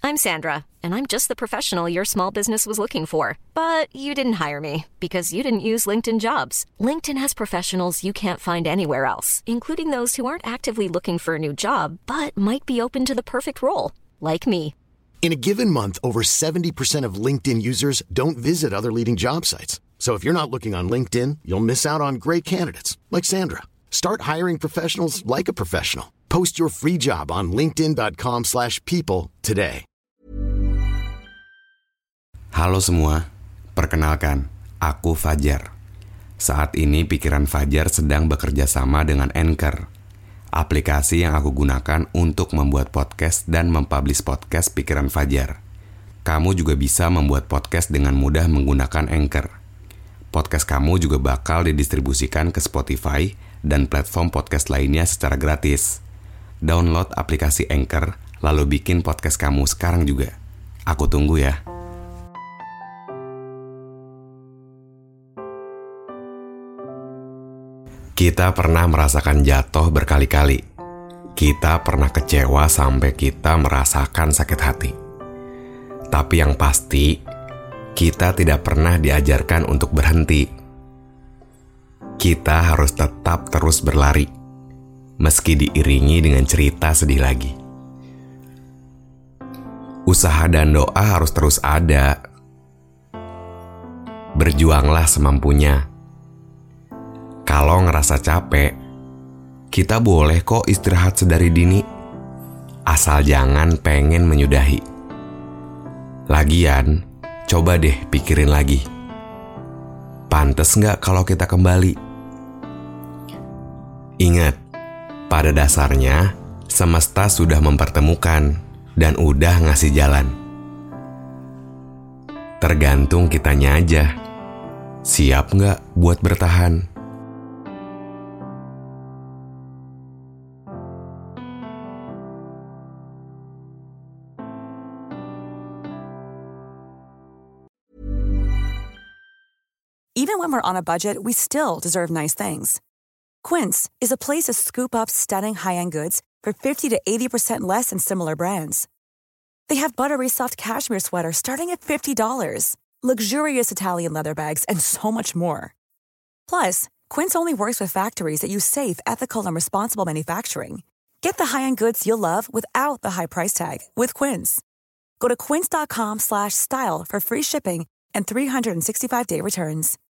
I'm Sandra, and I'm just the professional your small business was looking for. But you didn't hire me because you didn't use LinkedIn Jobs. LinkedIn has professionals you can't find anywhere else, including those who aren't actively looking for a new job, but might be open to the perfect role, like me. In a given month, over 70% of LinkedIn users don't visit other leading job sites. So if you're not looking on LinkedIn, you'll miss out on great candidates like Sandra. Start hiring professionals like a professional. Post your free job on linkedin.com/people today. Halo semua, perkenalkan, aku Fajar. Saat ini pikiran Fajar sedang bekerja sama dengan Anchor, aplikasi yang aku gunakan untuk membuat podcast dan mempublish podcast pikiran Fajar. Kamu juga bisa membuat podcast dengan mudah menggunakan Anchor. Podcast kamu juga bakal didistribusikan ke Spotify dan platform podcast lainnya secara gratis. Download aplikasi Anchor, lalu bikin podcast kamu sekarang juga. Aku tunggu ya. Kita pernah merasakan jatuh berkali-kali. Kita pernah kecewa sampai kita merasakan sakit hati. Tapi yang pasti, kita tidak pernah diajarkan untuk berhenti. Kita harus tetap terus berlari, meski diiringi dengan cerita sedih lagi. Usaha dan doa harus terus ada. Berjuanglah semampunya. Kalau ngerasa capek, kita boleh kok istirahat sedari dini, asal jangan pengen menyudahi. Lagian, coba deh pikirin lagi. Pantes nggak kalau kita kembali? Ingat, pada dasarnya, semesta sudah mempertemukan dan udah ngasih jalan. Tergantung kitanya aja. Siap nggak buat bertahan? Even when we're on a budget, we still deserve nice things. Quince is a place to scoop up stunning high-end goods for 50 to 80% less than similar brands. They have buttery soft cashmere sweaters starting at $50, luxurious Italian leather bags, and so much more. Plus, Quince only works with factories that use safe, ethical, and responsible manufacturing. Get the high-end goods you'll love without the high price tag with Quince. Go to quince.com/style for free shipping and 365-day returns.